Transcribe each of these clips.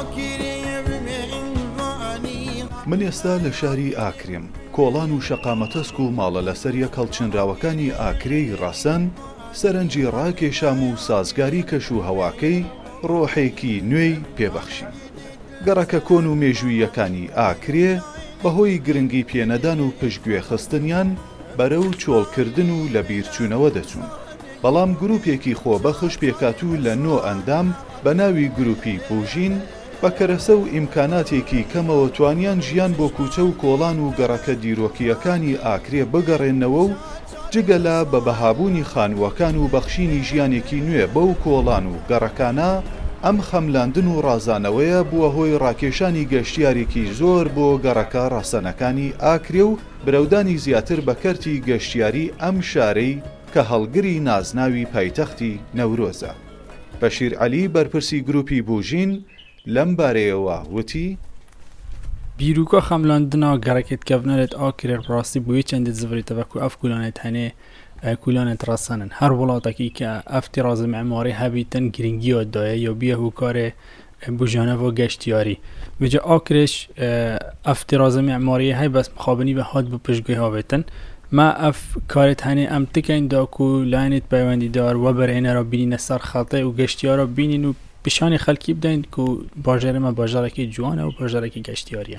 من ئێستا لە شاری ئاکرێم، کۆڵان و شەقامەتەسک و ماڵە لەسەریە کەڵچنراوەکانی ئاکرێی ڕەسەن سەرنجی ڕاکێشام و سازگاری کەش و هەواکەی ڕۆحێکی نوێی پێبەخشی. گەڕەکە کۆن و مێژوویەکانی ئاکرێ بەهۆی گرنگی پێنەدان و پشتگوێ خستنیان بەرەو چۆڵکردن و لە بیرچوونەوە دەچوون. بەڵام گروپێکی خۆبەخش پێکاتوو لە 9 ئەندام بە ناوی گروپی بوژین بە کەرەسە و ئیمکاناتێکی کەمەوە توانیان ژیان بۆ کوچە و کۆڵان و گەڕەکە دیرۆکیەکانی ئاکرێ بگەڕێنەوە و جگەلا بە بەهابوونی خانووەکان و بەخشینی ژیانێکی نوێ بەو کۆڵان و گەڕەکانە ئەم خەملاندن و ڕازانەوەیە بووە هۆی ڕاکێشانی گەشتیارێکی زۆر بۆ گەڕەکە ڕەسەنەکانی ئاکرێ و برەودانی زیاتر بە کەرتی گەشتیاری ئەم شارەی کە هەڵگری نازناوی پایتەختی نەورۆزە. بەشیر عەلی بەرپرسی گروپی بوژین لەم بارەیەوە وتی: بیرروکە خەملاندنا گەڕێکێتکەڤنەرێت ئاکرێ ڕاستی بۆیە چەندێت زڤێتەوە و ئەف کولانێت هەنێ کولانێت ڕەسەنن هەر وڵاتێکی کە ئەفتی ڕازە معماری هەبیتن گرنگیۆ دایە یا بیە هوکارێ بژانەوە گەشتیاری وجە ئاکرێش ئەفتی ڕازە معماری هەی بەس مخابنی بە هات بۆ پشتگوێ هاوێتن ما ئەف کارێت هەنێ ئەم تکەین داکو لایەنێت پەیوەندیدار وە بەرهێنەرە بینینە سەر خەڵتێ و گەشتیارە بینین و پیشانی خەڵکی بدەین و باژێرەمە باژارێکی جوانە و باژارێکی گەشتیاریە.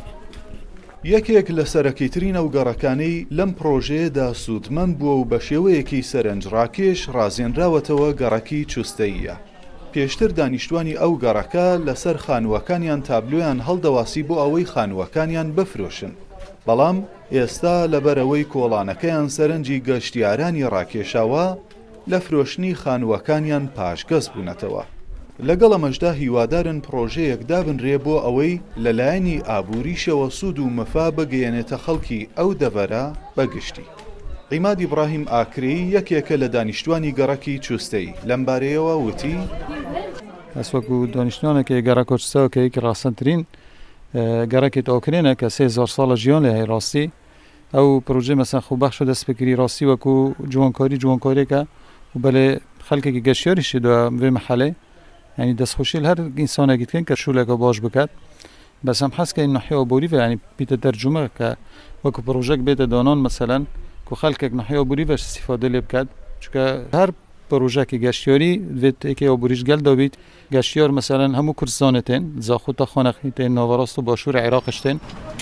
یەکێک لە سەرەکیترینە و گەڕەکانەی لەم پرۆژەیەدا سوودمەند بووە و بە شێوەیەکی سەرنجڕاکێش ڕازێنراوەتەوە گەڕەکی چوستەییە. پێشتر دانیشتوانی ئەو گەڕەکە لەسەر خانووەکانیان تابلۆیان هەڵدەواسی بۆ ئەوەی خانووەکانیان بفرۆشن. بەڵام ئێستا لەبەرەوەی کۆڵانەکەیان سەرنجی گەشتیارانی ڕاکێشاوە لە فرۆشتنی خانووەکانیان پاشگەز بوونەتەوە. لەگەڵ ئەمەشدا هیوادارن پرۆژەیەک دابنرێ بۆ ئەوەی لەلایەنی ئابووریشەوە سوود و مەفا بگەیەنێتە خەڵکی ئەو دەڤەرە بەگشتی. عیماد ئیبراهیم ئاکرێی یەکێکە لە دانیشتوانی گەڕەکی چوستەی لەم بارەیەوە وتی: ئەس وەکو دانیشتوانێکی گەڕە کۆچستەوەکەیەکی ڕاستەترین گەڕێکێت ئۆکرێنە کە 3000 ساڵە ژیان لێ هەیە ڕاستی ئەو پرۆژێ مەسەن خوبەخشە دەستپێکری ڕاستی وەکو جوانکاریەکە و بەلێ خەڵکێکی گەشتیاریشی دووە بێ مەحەلێ يعني دەستخۆشی هەر ئینسانێکی بکەن کە شولێکە باش بکات بەس ئەم حەزکەین نەحیەوە بۆریڤە ینی بیتە دەرجومە کە وەکو پرۆژەک بێتە دانان مەسەلەن کو خەڵکێک نەحیەوە بۆریڤەش استیفادە لێ بکات چونکە هەر پرۆژەکی گەشتیاری دەوێت ئێکەوە بوریش گەلدا بیت گەشتیار مەسەلەن هەموو کوردستانێتێن زاخۆتە خۆنەخیتێن ناوەڕاست و باشوور عێراقشتێن.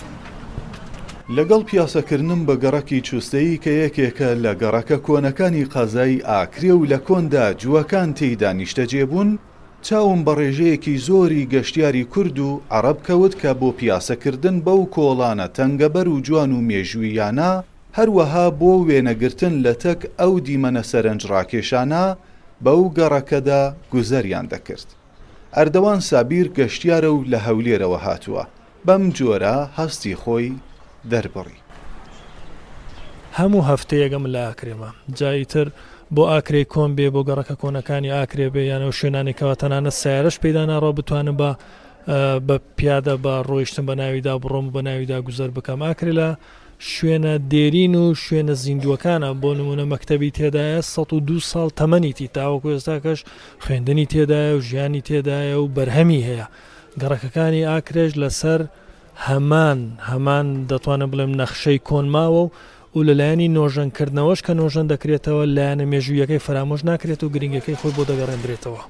لەگەڵ پیاسەکردنم بە گەڕەکی چوستەیی کە یەکێکە لە گەڕەکە کۆنەکانی قەزای ئاکرێ و لە کۆندا جووەکان تێیدا نیشتەجێبوون چاوم بە ڕێژەیەکی زۆری گەشتیاری کورد و عەرەب کەوت کە بۆ پیاسەکردن بەو کۆڵانە تەنگەبەر و جوان و مێژوویانە هەروەها بۆ وێنەگرتن لە تەک ئەو دیمەنە سەرنج ڕاکێشانە بەو گەڕەکەدا گوزەریان دەکرد. ئەردەوان سابیر گەشتیارە و لە هەولێرەوە هاتووە بەم جۆرە هەستی خۆی دەربڕی. هەموو هەفتەیەگەم لە ئاکرێمە جاییتر بۆ ئاکرێ کۆن بێ بۆ گەڕەکە کۆنەکانی ئاکرێ بێ یانە شوێنانێکەوە تەنانە سیارەش پێدا ناڕۆ بتوانم بە پیادە بە ڕۆیشتن بە ناویدا بڕۆم بە ناویدا گوزەر بکەم. ئاکرێ لە شوێنە دێرین و شوێنە زیندوەکانە بۆ نمونە مەکتەبی تێدایە 102 ساڵ تەمەنیتی تاوەکو ئێستاکەش خوێندنی تێدایە و ژیانی تێدایە و بەرهەمی هەیە. گەڕەکەکانی ئاکرێش لەسەر هەمان دەتوانم بڵێم نەخشەی کۆنماوە و لەلایەنی نۆژەنکردنەوەش کە نۆژەن دەکرێتەوە لایەنە مێژوویەکەی فرامۆژ ناکرێت و گرنگەکەی خۆی بۆ دەگەڕێنرێتەوە.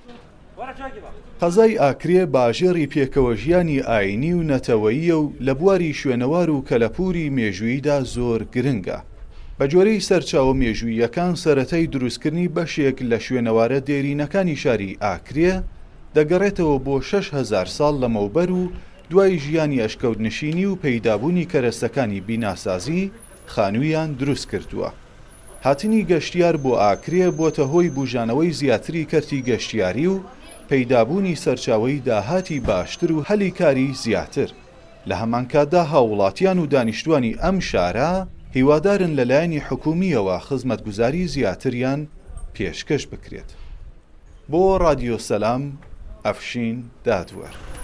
قەزای ئاکرێ باژێڕی پێکەوە ژیانی ئاینی و نەتەوەییە و لە بواری شوێنەوار و کەلەپوری مێژووییدا زۆر گرنگە. بە جۆرەی سەرچاوە مێژوویەکان سەرەتای دروستکردنی بەشێک لە شوێنەوارە دێرینەکانی شاری ئاکرێ دەگەڕێتەوە بۆ 6000 ساڵ لەمەوبەر و دوای ژیانی ئەشکەوتنشینی و پەیدابوونی کەرەستەکانی بیناسازی خانوویان دروست کردووە. هاتنی گەشتیار بۆ ئاکرێ بۆتە هۆی بوژانەوەی زیاتری کەرتی گەشتیاری و پەیدابوونی سەرچاوەی داهاتی باشتر و هەلی کاری زیاتر. لە هەمانکاتدا هاوڵاتیان و دانیشتوانی ئەم شارە هیوادارن لەلایەنی حکومیەوە خزمەتگوزاری زیاتریان پێشکەش بکرێت. بۆ رادیۆ سەلام ئەفشین دادوەر.